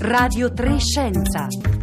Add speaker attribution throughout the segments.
Speaker 1: Radio 3 Scienza.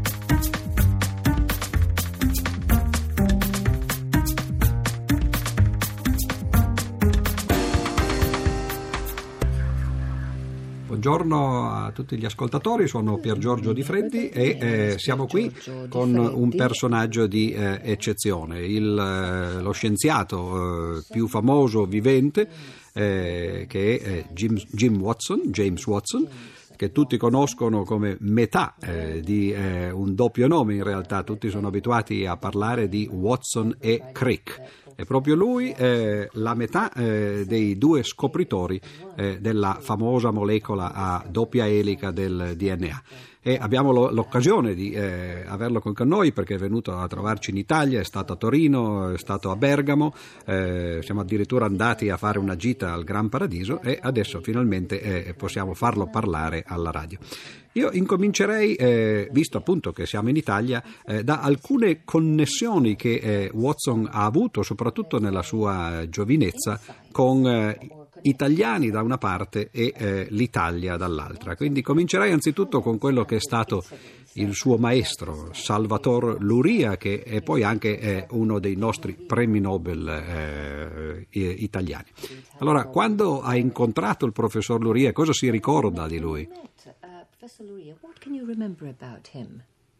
Speaker 2: Buongiorno a tutti gli ascoltatori, sono Pier Giorgio Di Freddi e siamo qui con un personaggio di eccezione, lo scienziato più famoso vivente che è James Watson, che tutti conoscono come metà di un doppio nome. In realtà tutti sono abituati a parlare di Watson e Crick. È proprio lui la metà dei due scopritori della famosa molecola a doppia elica del DNA. E abbiamo l'occasione di averlo con noi perché è venuto a trovarci in Italia, è stato a Torino, è stato a Bergamo, siamo addirittura andati a fare una gita al Gran Paradiso e adesso finalmente possiamo farlo parlare alla radio. Io incomincerei, visto appunto che siamo in Italia, da alcune connessioni che Watson ha avuto, soprattutto nella sua giovinezza, con italiani da una parte e l'Italia dall'altra. Quindi comincerei anzitutto con quello che è stato il suo maestro, Salvatore Luria, che è poi anche uno dei nostri premi Nobel italiani. Allora, quando ha incontrato il professor Luria, cosa si ricorda di lui?
Speaker 3: Professor Luria, what can you remember about him?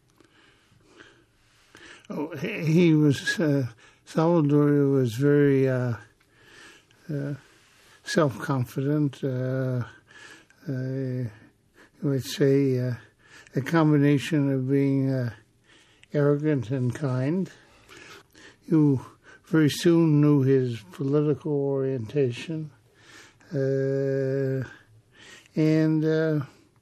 Speaker 4: Oh, he was Salvador was very self-confident. I would say a combination of being arrogant and kind. You very soon knew his political orientation, and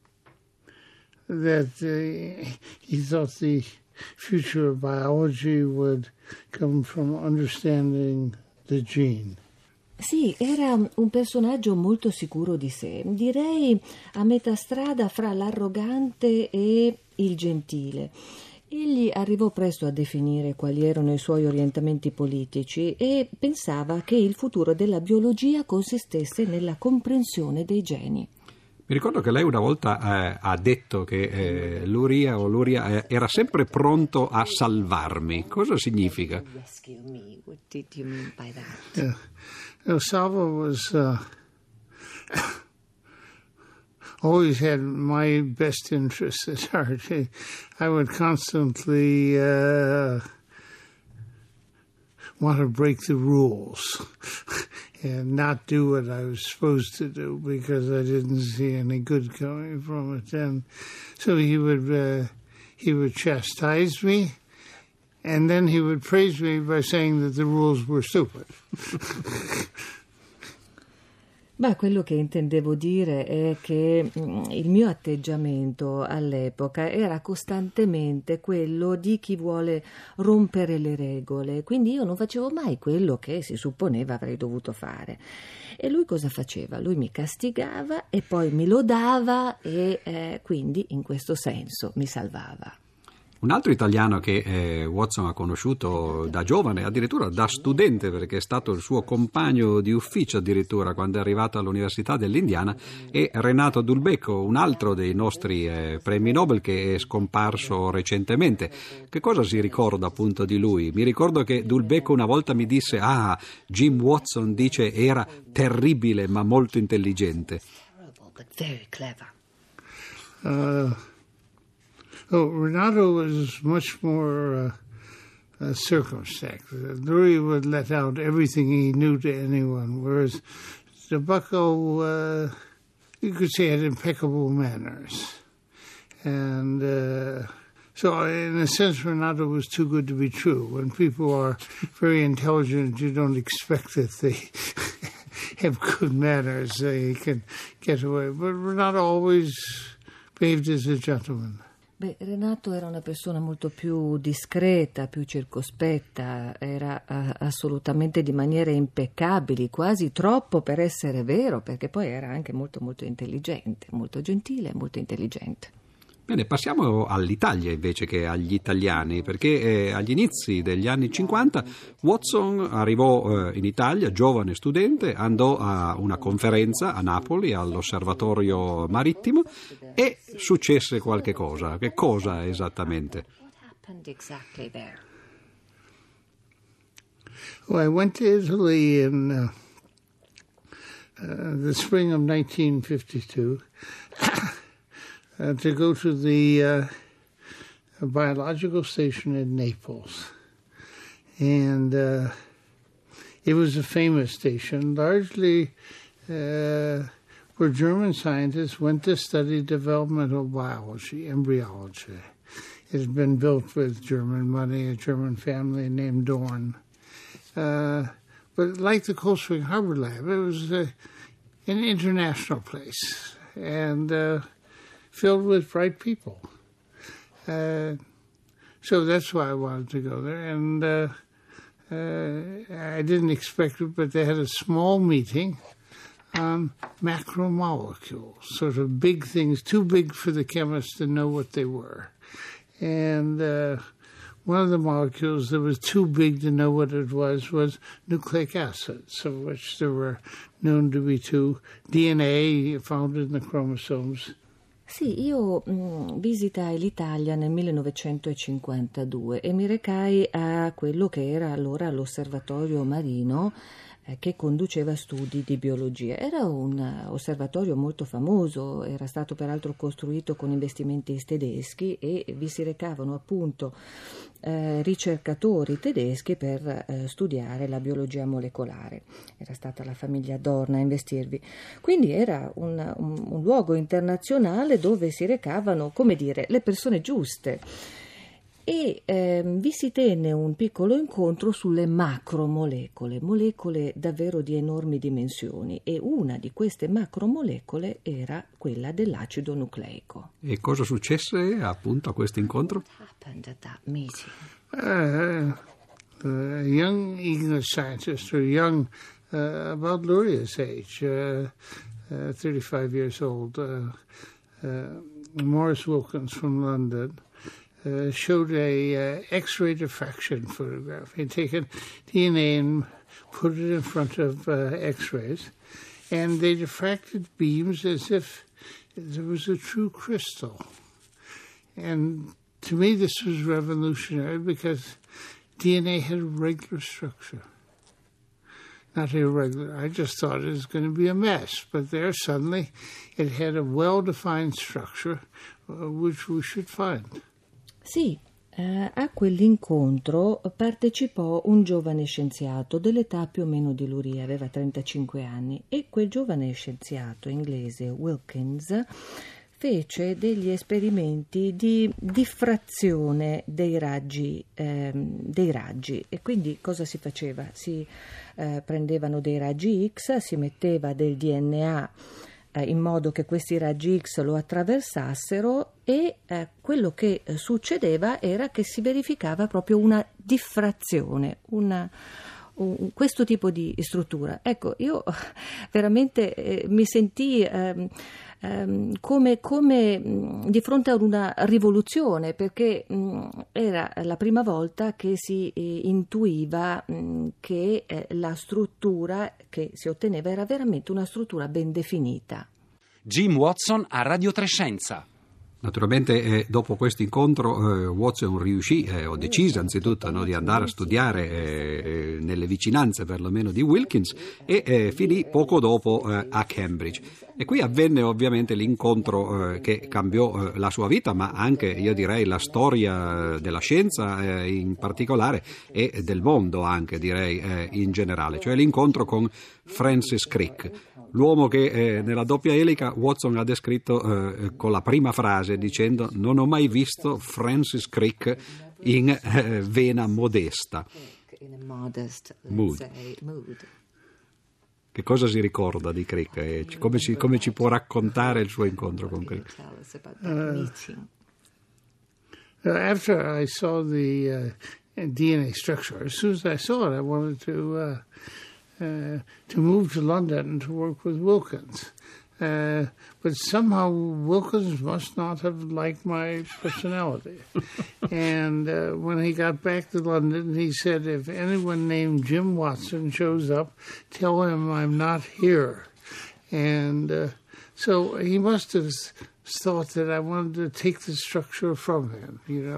Speaker 4: that he thought the future of biology would come from understanding the gene.
Speaker 3: Sì, era un personaggio molto sicuro di sé, direi a metà strada fra l'arrogante e il gentile. Egli arrivò presto a definire quali erano i suoi orientamenti politici e pensava che il futuro della biologia consistesse nella comprensione dei geni.
Speaker 2: Mi ricordo che lei una volta ha detto che Luria era sempre pronto a salvarmi. Cosa significa?
Speaker 3: What did you mean by that?
Speaker 4: Salvo was always had my best interests at heart. I would constantly want to break the rules and not do what I was supposed to do because I didn't see any good coming from it. And so he would chastise me, and then he would praise me by saying that the rules were stupid.
Speaker 3: Beh, quello che intendevo dire è che il mio atteggiamento all'epoca era costantemente quello di chi vuole rompere le regole, quindi io non facevo mai quello che si supponeva avrei dovuto fare. E lui cosa faceva? Lui mi castigava e poi mi lodava e quindi in questo senso mi salvava.
Speaker 2: Un altro italiano che Watson ha conosciuto da giovane, addirittura da studente, perché è stato il suo compagno di ufficio addirittura quando è arrivato all'Università dell'Indiana, è Renato Dulbecco, un altro dei nostri premi Nobel che è scomparso recentemente. Che cosa si ricorda appunto di lui? Mi ricordo che Dulbecco una volta mi disse Jim Watson dice era terribile ma molto intelligente.
Speaker 3: Terrible, but very clever.
Speaker 4: Renato was much more circumspect. Luria would let out everything he knew to anyone, whereas Dulbecco, you could say, had impeccable manners. And so in a sense, Renato was too good to be true. When people are very intelligent, you don't expect that they have good manners. They can get away. But Renato always behaved as a gentleman.
Speaker 3: Beh, Renato era una persona molto più discreta, più circospetta, era assolutamente di maniere impeccabili, quasi troppo per essere vero, perché poi era anche molto molto intelligente, molto gentile e molto intelligente.
Speaker 2: Bene, passiamo all'Italia invece che agli italiani, perché agli inizi degli anni 50 Watson arrivò in Italia, giovane studente, andò a una conferenza a Napoli all'Osservatorio Marittimo e successe qualche cosa. Che cosa esattamente?
Speaker 4: Well, I went to Italy in the spring of 1952. To go to the biological station in Naples. And it was a famous station, largely where German scientists went to study developmental biology, embryology. It had been built with German money, a German family named Dorn. But like the Cold Spring Harbor Lab, it was an international place. And filled with bright people. So that's why I wanted to go there. And I didn't expect it, but they had a small meeting on macromolecules, sort of big things, too big for the chemists to know what they were. And one of the molecules that was too big to know what it was nucleic acids, of which there were known to be two. DNA found in the chromosomes.
Speaker 3: Sì, io visitai l'Italia nel 1952 e mi recai a quello che era allora l'osservatorio marino che conduceva studi di biologia. Era un osservatorio molto famoso, era stato peraltro costruito con investimenti tedeschi e vi si recavano appunto ricercatori tedeschi per studiare la biologia molecolare. Era stata la famiglia Dorn a investirvi. Quindi era un luogo internazionale dove si recavano, come dire, le persone giuste. E vi si tenne un piccolo incontro sulle macromolecole, molecole davvero di enormi dimensioni, e una di queste macromolecole era quella dell'acido nucleico.
Speaker 2: E cosa successe appunto a questo incontro?
Speaker 3: What happened at that meeting?
Speaker 4: Young English scientist, or young, about Luria's age, 35 years old, Morris Wilkins from London, showed a X-ray diffraction photograph. He'd taken DNA and put it in front of X-rays, and they diffracted beams as if there was a true crystal. And to me, this was revolutionary because DNA had a regular structure. Not irregular. I just thought it was going to be a mess, but there suddenly it had a well-defined structure, which we should find.
Speaker 3: Sì, a quell'incontro partecipò un giovane scienziato dell'età più o meno di Luria, aveva 35 anni, e quel giovane scienziato inglese, Wilkins, fece degli esperimenti di diffrazione dei raggi. E quindi cosa si faceva? Si prendevano dei raggi X, si metteva del DNA in modo che questi raggi X lo attraversassero e quello che succedeva era che si verificava proprio una diffrazione, questo tipo di struttura. Ecco, io veramente mi sentii come di fronte ad una rivoluzione, perché era la prima volta che si intuiva che la struttura che si otteneva era veramente una struttura ben definita.
Speaker 1: Jim Watson a Radio Trescenza.
Speaker 2: Naturalmente dopo questo incontro Watson riuscì, o decise anzitutto, di andare a studiare nelle vicinanze perlomeno di Wilkins e finì poco dopo a Cambridge. E qui avvenne ovviamente l'incontro che cambiò la sua vita, ma anche, io direi, la storia della scienza in particolare e del mondo anche, direi, in generale, cioè l'incontro con Francis Crick. L'uomo che nella doppia elica Watson ha descritto con la prima frase dicendo: non ho mai visto Francis Crick in vena modesta. Mood. Che cosa si ricorda di Crick? Come ci può raccontare il suo incontro con Crick?
Speaker 4: After I saw the DNA structure, as soon as I saw it, I wanted to move to London to work with Wilkins. But somehow Wilkins must not have liked my personality. And when he got back to London, he said, if anyone named Jim Watson shows up, tell him I'm not here. And so he must have thought that I wanted to take the structure from him,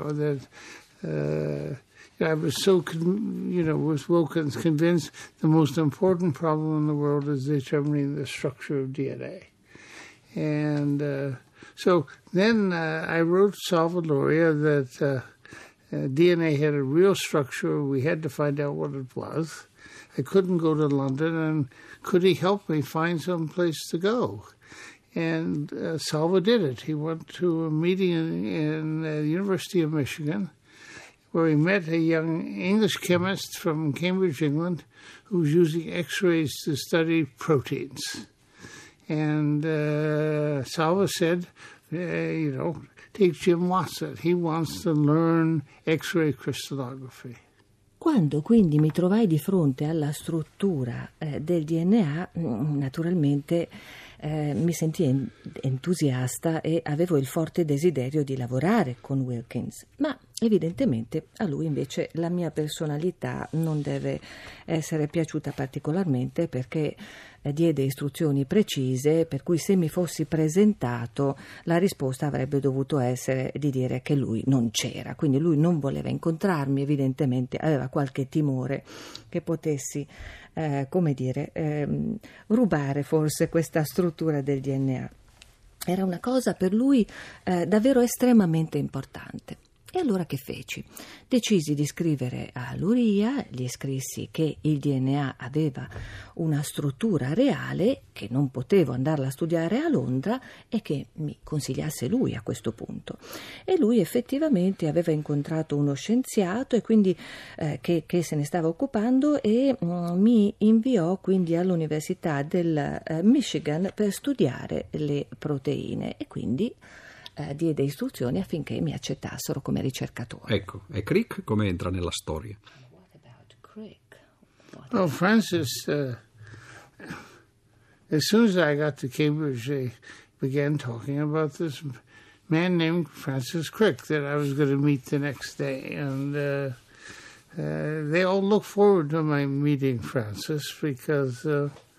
Speaker 4: that I was so, with Wilkins, convinced the most important problem in the world is determining the structure of DNA. And so then I wrote Salvadoria that DNA had a real structure. We had to find out what it was. I couldn't go to London, and could he help me find some place to go? And Salva did it. He went to a meeting in the University of Michigan, where he met a young English chemist from Cambridge, England, who was using X-rays to study proteins. And Salva said, take Jim Watson. He wants to learn X-ray crystallography.
Speaker 3: Quando quindi mi trovai di fronte alla struttura del DNA, naturalmente mi sentii entusiasta e avevo il forte desiderio di lavorare con Wilkins, ma evidentemente a lui invece la mia personalità non deve essere piaciuta particolarmente, perché diede istruzioni precise, per cui se mi fossi presentato la risposta avrebbe dovuto essere di dire che lui non c'era, quindi lui non voleva incontrarmi, evidentemente aveva qualche timore che potessi rubare forse questa struttura del DNA. Era una cosa per lui davvero estremamente importante. E allora che feci? Decisi di scrivere a Luria, gli scrissi che il DNA aveva una struttura reale, che non potevo andarla a studiare a Londra e che mi consigliasse lui a questo punto. E lui effettivamente aveva incontrato uno scienziato e quindi che se ne stava occupando, e mi inviò quindi all'Università del Michigan per studiare le proteine, e quindi diede istruzioni affinché mi accettassero come ricercatore.
Speaker 2: Ecco, e Crick come entra nella storia?
Speaker 3: What about Crick?
Speaker 4: Well, Francis, as soon as I got to Cambridge, they began talking about this man named Francis Crick that I was going to meet the next day. And they all looked forward to my meeting Francis, because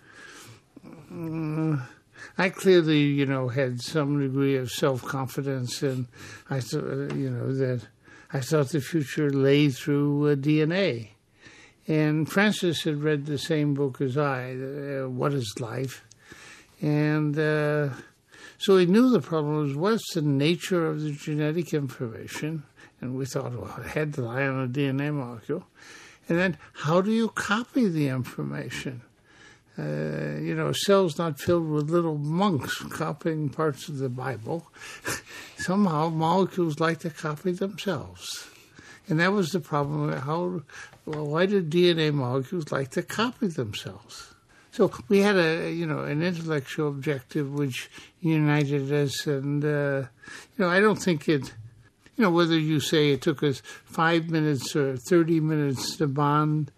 Speaker 4: I clearly, had some degree of self-confidence, and I thought, that I thought the future lay through DNA. And Francis had read the same book as I, What is Life? And so he knew the problem was, what's the nature of the genetic information? And we thought, well, it had to lie on a DNA molecule. And then how do you copy the information? A cell's not filled with little monks copying parts of the Bible. Somehow molecules like to copy themselves. And that was the problem. Why do DNA molecules like to copy themselves? So we had an intellectual objective which united us. And, I don't think it, whether you say it took us 5 minutes or 30 minutes to bond,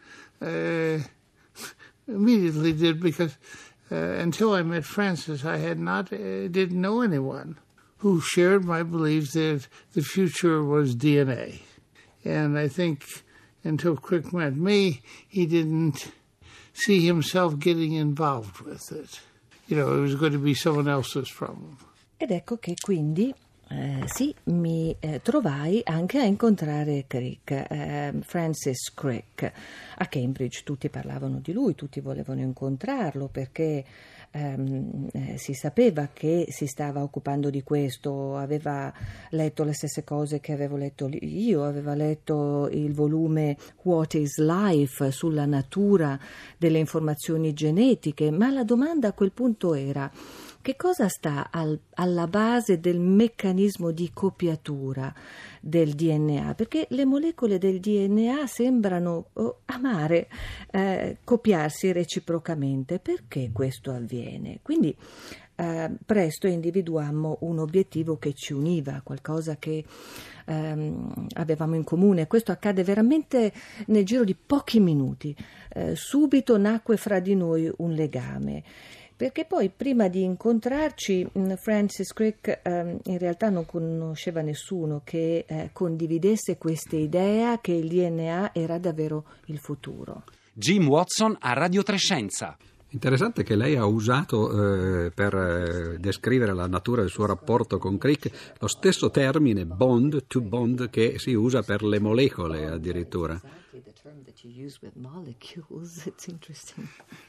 Speaker 4: immediately did, because until I met Francis, I didn't know anyone who shared my belief that the future was DNA. And I think until Crick met me, he didn't see himself getting involved with it. It was going to be someone else's problem.
Speaker 3: Ed ecco che quindi mi trovai anche a incontrare Crick, Francis Crick, a Cambridge. Tutti parlavano di lui, tutti volevano incontrarlo, perché si sapeva che si stava occupando di questo, aveva letto le stesse cose che avevo letto io, aveva letto il volume What is Life sulla natura delle informazioni genetiche, ma la domanda a quel punto era: che cosa sta alla base del meccanismo di copiatura del DNA, perché le molecole del DNA sembrano amare copiarsi reciprocamente. Perché questo avviene? Quindi presto individuammo un obiettivo che ci univa, qualcosa che avevamo in comune. Questo accade veramente nel giro di pochi minuti. Subito nacque fra di noi un legame. Perché poi prima di incontrarci Francis Crick in realtà non conosceva nessuno che condividesse questa idea che il DNA era davvero il futuro.
Speaker 1: Jim Watson a Radio Trescenza.
Speaker 2: Interessante che lei ha usato per descrivere la natura del suo rapporto con Crick lo stesso termine bond, to bond, che si usa per le molecole addirittura.
Speaker 3: Exactly the term that you use with molecules. It's interesting.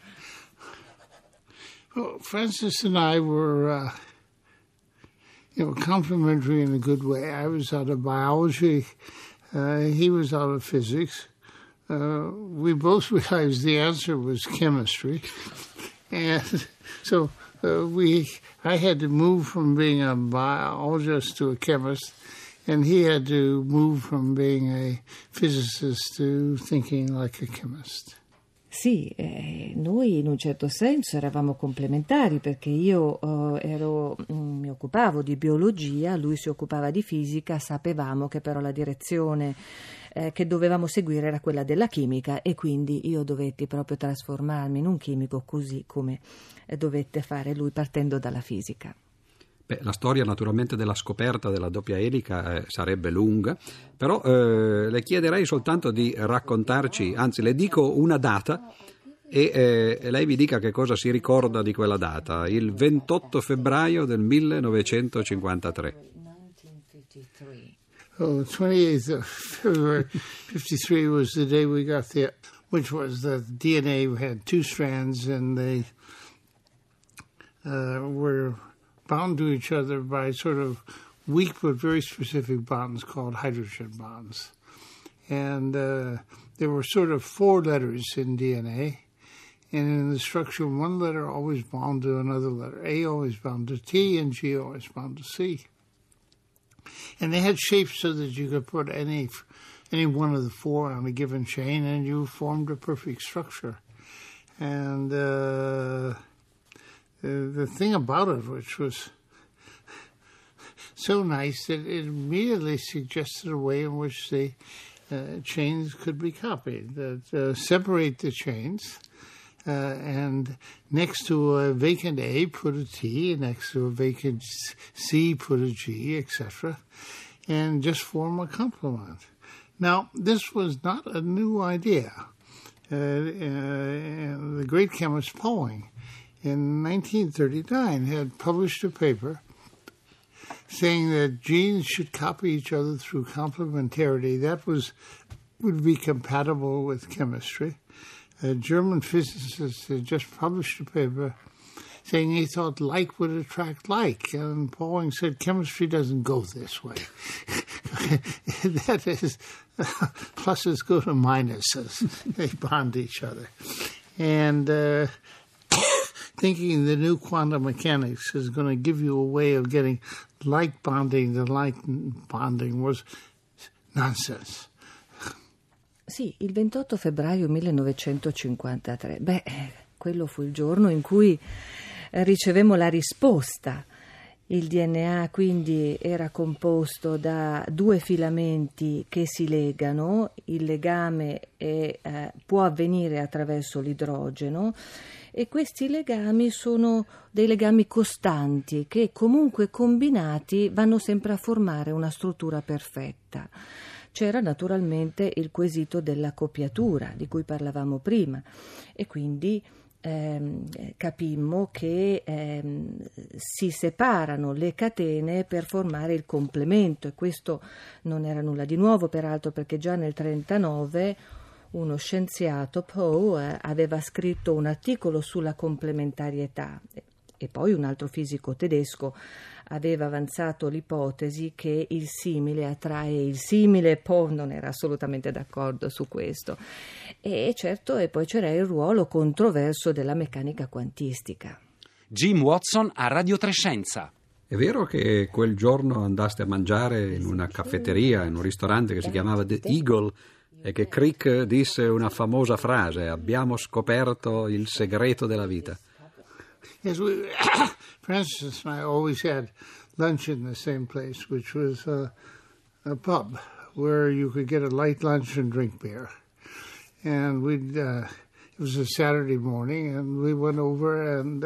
Speaker 4: Well, Francis and I were, complementary in a good way. I was out of biology. He was out of physics. We both realized the answer was chemistry. And so I had to move from being a biologist to a chemist, and he had to move from being a physicist to thinking like a chemist.
Speaker 3: Sì, noi in un certo senso eravamo complementari, perché io mi occupavo di biologia, lui si occupava di fisica, sapevamo che però la direzione che dovevamo seguire era quella della chimica, e quindi io dovetti proprio trasformarmi in un chimico, così come dovette fare lui partendo dalla fisica.
Speaker 2: La storia naturalmente della scoperta della doppia elica sarebbe lunga, però le chiederei soltanto di raccontarci, anzi le dico una data e lei mi dica che cosa si ricorda di quella data, il 28 febbraio del 1953.
Speaker 4: Oh, 28th of February 53 was the day we got which was the DNA had two strands, and they were bound to each other by sort of weak but very specific bonds called hydrogen bonds. And there were sort of four letters in DNA, and in the structure, one letter always bound to another letter. A always bound to T, and G always bound to C. And they had shapes so that you could put any one of the four on a given chain, and you formed a perfect structure. And the thing about it, which was so nice, that it immediately suggested a way in which the chains could be copied. That separate the chains, and next to a vacant A, put a T, and next to a vacant C, put a G, etc., and just form a complement. Now, this was not a new idea. The great chemist Pauling, in 1939, had published a paper saying that genes should copy each other through complementarity. That would be compatible with chemistry. A German physicist had just published a paper saying he thought like would attract like, and Pauling said chemistry doesn't go this way. That is, pluses go to minuses. They bond each other. And thinking the new quantum mechanics is going to give you a way of getting like bonding to like bonding was nonsense.
Speaker 3: Sì, il 28 febbraio 1953. Quello fu il giorno in cui ricevemmo la risposta. Il DNA quindi era composto da due filamenti che si legano, il legame può avvenire attraverso l'idrogeno, e questi legami sono dei legami costanti che comunque combinati vanno sempre a formare una struttura perfetta. C'era naturalmente il quesito della copiatura di cui parlavamo prima, e quindi capimmo che si separano le catene per formare il complemento, e questo non era nulla di nuovo peraltro, perché già nel 1939 uno scienziato, Poe, aveva scritto un articolo sulla complementarietà, e poi un altro fisico tedesco aveva avanzato l'ipotesi che il simile attrae il simile. Poe non era assolutamente d'accordo su questo. E certo, e poi c'era il ruolo controverso della meccanica quantistica.
Speaker 1: Jim Watson a Radio Trescenza.
Speaker 2: È vero che quel giorno andaste a mangiare in una caffetteria, in un ristorante che si chiamava The Eagle, e che Crick disse una famosa frase: abbiamo scoperto il segreto della vita.
Speaker 4: Yes, Francis and I always had lunch in the same place, which was a pub where you could get a light lunch and drink beer. And it was a Saturday morning, and we went over, and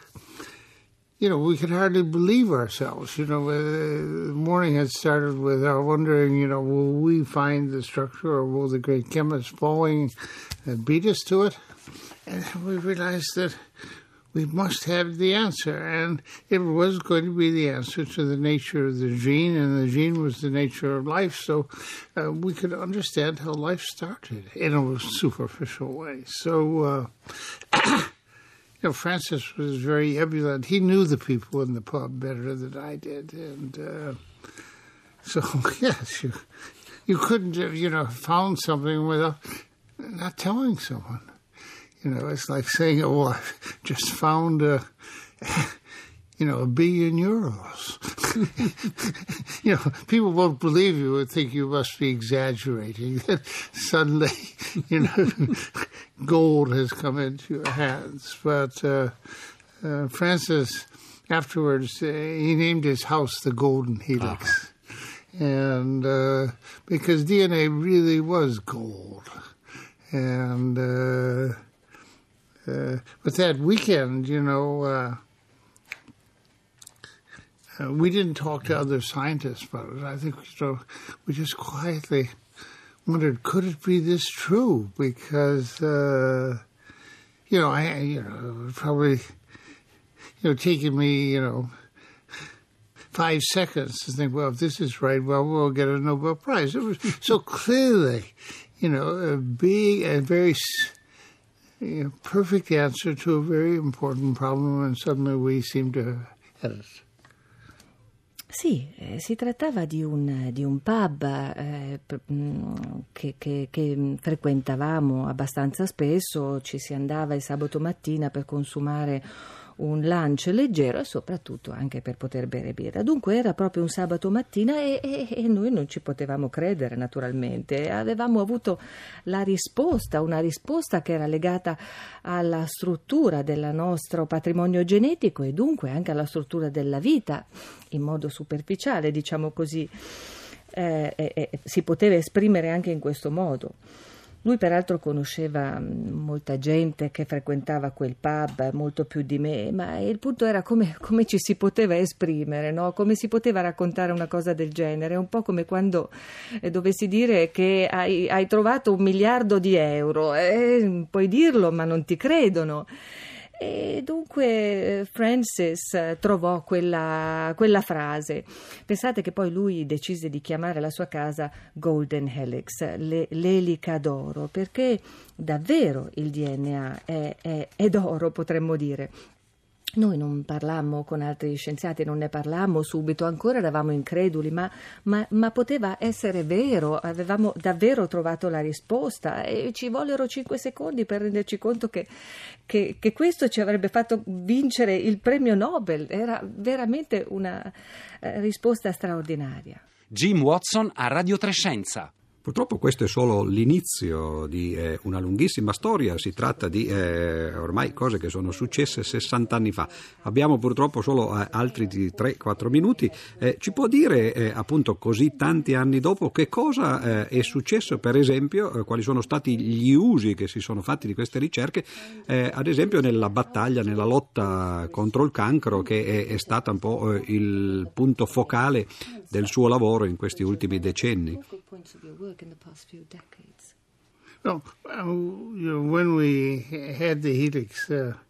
Speaker 4: we could hardly believe ourselves. The morning had started with our wondering, will we find the structure, or will the great chemist falling beat us to it? And we realized that we must have the answer, and it was going to be the answer to the nature of the gene, and the gene was the nature of life, so we could understand how life started in a superficial way. So, Francis was very ebullient. He knew the people in the pub better than I did, and so, yes, you couldn't have, found something without not telling someone. It's like saying, I've just found €1 billion. People won't believe you and think you must be exaggerating. Then suddenly, gold has come into your hands. But Francis, afterwards, he named his house the Golden Helix. And because DNA really was gold. And but that weekend, we didn't talk to other scientists about it. I think we just quietly wondered, could it be this true? Because it would probably taken me 5 seconds to think, well, if this is right, well, we'll get a Nobel Prize. It was so clearly, a big and very perfect answer to a very important problem, and suddenly we seem to have it.
Speaker 3: Sì, si trattava di un pub che frequentavamo abbastanza spesso, ci si andava il sabato mattina per consumare un lunch leggero e soprattutto anche per poter bere birra. Dunque era proprio un sabato mattina e noi non ci potevamo credere, naturalmente. Avevamo avuto una risposta che era legata alla struttura del nostro patrimonio genetico e dunque anche alla struttura della vita, in modo superficiale, diciamo così. Si poteva esprimere anche in questo modo. Lui peraltro conosceva molta gente che frequentava quel pub, molto più di me, ma il punto era come ci si poteva esprimere, no? Come si poteva raccontare una cosa del genere, un po' come quando dovessi dire che hai trovato €1 miliardo, puoi dirlo ma non ti credono. E dunque Francis trovò quella frase. Pensate che poi lui decise di chiamare la sua casa Golden Helix, l'elica d'oro, perché davvero il DNA è d'oro, potremmo dire. Noi non parlammo con altri scienziati, non ne parlammo subito, ancora eravamo increduli, ma poteva essere vero, avevamo davvero trovato la risposta e ci vollero 5 secondi per renderci conto che questo ci avrebbe fatto vincere il premio Nobel. Era veramente una risposta straordinaria.
Speaker 1: Jim Watson a Radio Trescenza.
Speaker 2: Purtroppo questo è solo l'inizio di una lunghissima storia, si tratta di ormai cose che sono successe 60 anni fa. Abbiamo purtroppo solo altri di 3-4 minuti. Ci può dire appunto così tanti anni dopo che cosa è successo, per esempio, quali sono stati gli usi che si sono fatti di queste ricerche, ad esempio nella battaglia, nella lotta contro il cancro, che è stata un po' il punto focale del suo lavoro in questi ultimi decenni.
Speaker 3: In the past few decades.
Speaker 4: Well, when we had the helix,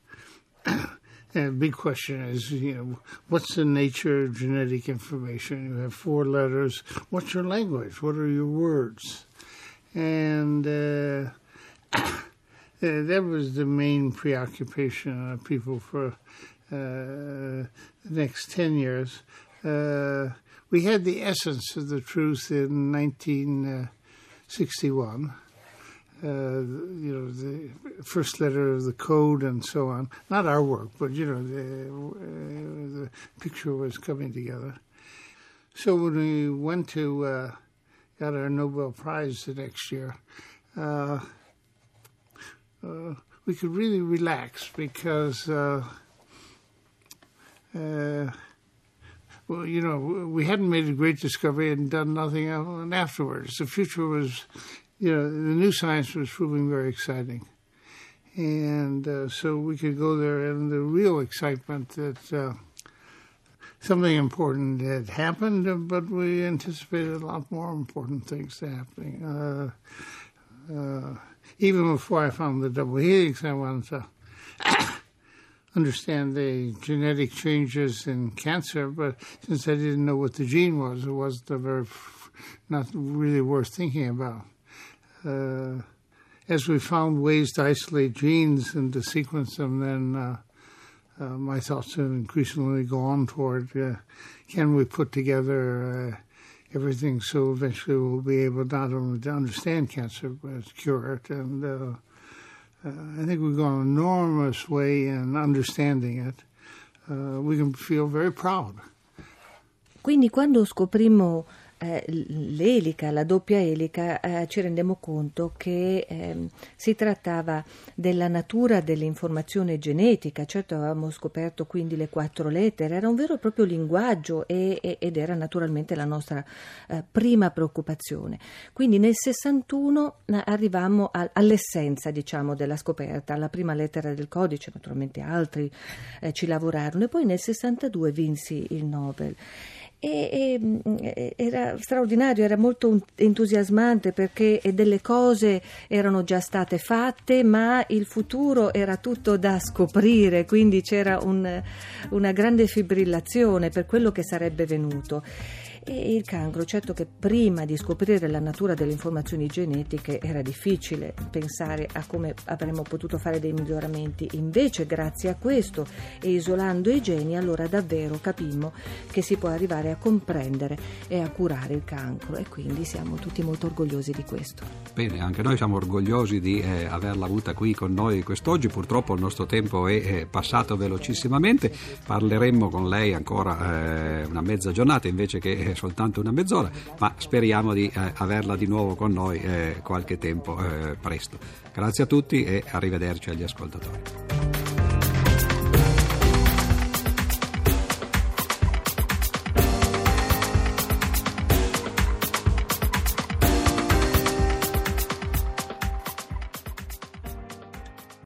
Speaker 4: the big question is, what's the nature of genetic information? You have 4 letters. What's your language? What are your words? And that was the main preoccupation of people for the next 10 years. We had the essence of the truth in 1961, the first letter of the code and so on. Not our work, but the picture was coming together. So when we went to got our Nobel Prize the next year, we could really relax because we hadn't made a great discovery and done nothing afterwards. The future was, the new science was proving very exciting. And so we could go there, and the real excitement that something important had happened, but we anticipated a lot more important things happening. Even before I found the double helix, I wanted to understand the genetic changes in cancer, but since I didn't know what the gene was, it wasn't not really worth thinking about. As we found ways to isolate genes and to sequence them, then my thoughts have increasingly gone toward can we put together everything so eventually we'll be able not only to understand cancer but cure it. And I think we've gone an enormous way in understanding it. We can feel very proud.
Speaker 3: Quindi quando scoprimmo l'elica, la doppia elica, ci rendemmo conto che si trattava della natura dell'informazione genetica. Certo, avevamo scoperto quindi le 4 lettere, era un vero e proprio linguaggio ed era naturalmente la nostra prima preoccupazione. Quindi nel 61 arrivammo all'essenza, della scoperta, alla prima lettera del codice. Naturalmente altri ci lavorarono e poi nel 62 vinsi il Nobel. Era straordinario, era molto entusiasmante perché delle cose erano già state fatte, ma il futuro era tutto da scoprire, quindi c'era una grande fibrillazione per quello che sarebbe venuto. E il cancro, certo che prima di scoprire la natura delle informazioni genetiche era difficile pensare a come avremmo potuto fare dei miglioramenti. Invece, grazie a questo e isolando i geni, allora davvero capimmo che si può arrivare a comprendere e a curare il cancro, e quindi siamo tutti molto orgogliosi di questo.
Speaker 2: Bene, anche noi siamo orgogliosi di averla avuta qui con noi quest'oggi. Purtroppo il nostro tempo è passato velocissimamente, parleremmo con lei ancora una mezza giornata invece che soltanto una mezz'ora, ma speriamo di averla di nuovo con noi qualche tempo presto. Grazie a tutti e arrivederci agli ascoltatori.